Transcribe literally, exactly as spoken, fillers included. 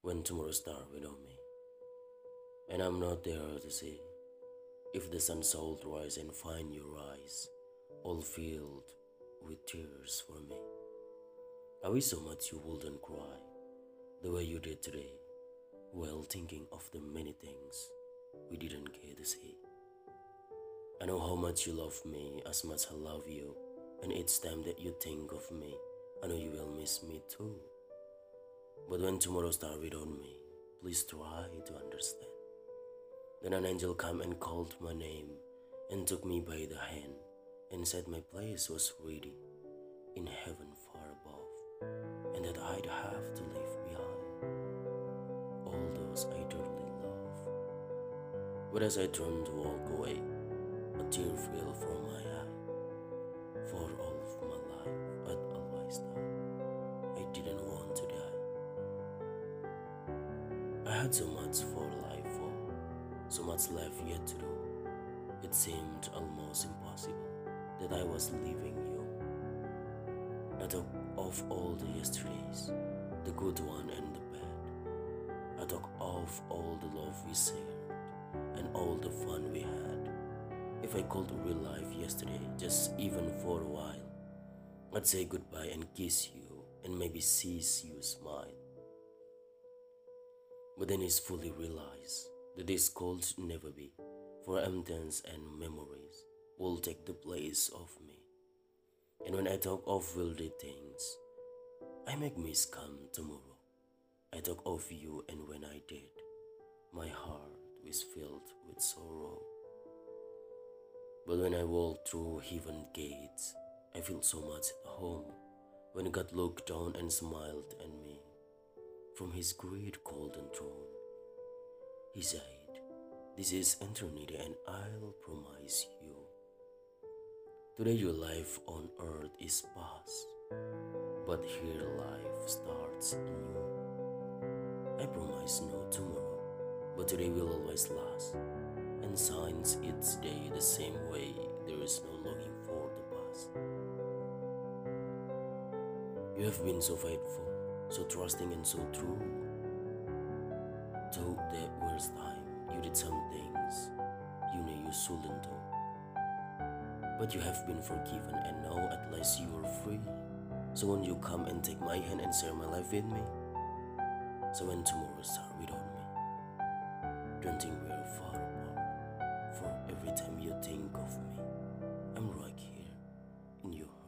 when tomorrow start without me. And I'm not there to see if the sun shall rise and find your eyes all filled with tears for me. I wish so much you wouldn't cry the way you did today while thinking of the many things we didn't get to see. I know how much you love me as much I love you, and each time that you think of me, I know you will miss me too. But when tomorrow starts without me, please try to understand. Then an angel came and called my name and took me by the hand and said my place was ready in heaven far above, and that I'd have to leave behind all those I dearly love. But as I turned to walk away, a tear fell from my eye. For all of my life, I'd always thought I didn't want to die. I had so much for life for, so much left yet to do. It seemed almost impossible that I was leaving you. I thought of all the yesterdays, the good one and the bad. I thought of all the love we shared and all the fun we had. If I could relive yesterday just even for a while, I'd say goodbye and kiss you and maybe see you smile. But then it's fully realized that this could never be, for emptiness and memories will take the place of me. And when I talk of worldly things, I make miss come tomorrow. I talk of you, and when I did, my heart was filled with sorrow. But when I walk through heaven gates, I feel so much at home. When God looked down and smiled at me from his great golden throne, he said, "This is eternity, and I'll promise you. Today your life on earth is past, but here life starts anew. I promise no tomorrow, but today will always last, and shines each day the same way. There is no longing for the past. You have been so faithful, so trusting and so true. Though there was time you did some things you knew you shouldn't do. But you have been forgiven, and now at last you are free. So won't you come and take my hand and share my life with me? So when tomorrow starts without me, don't think we're far apart. For every time you think of me, I'm right here in your heart."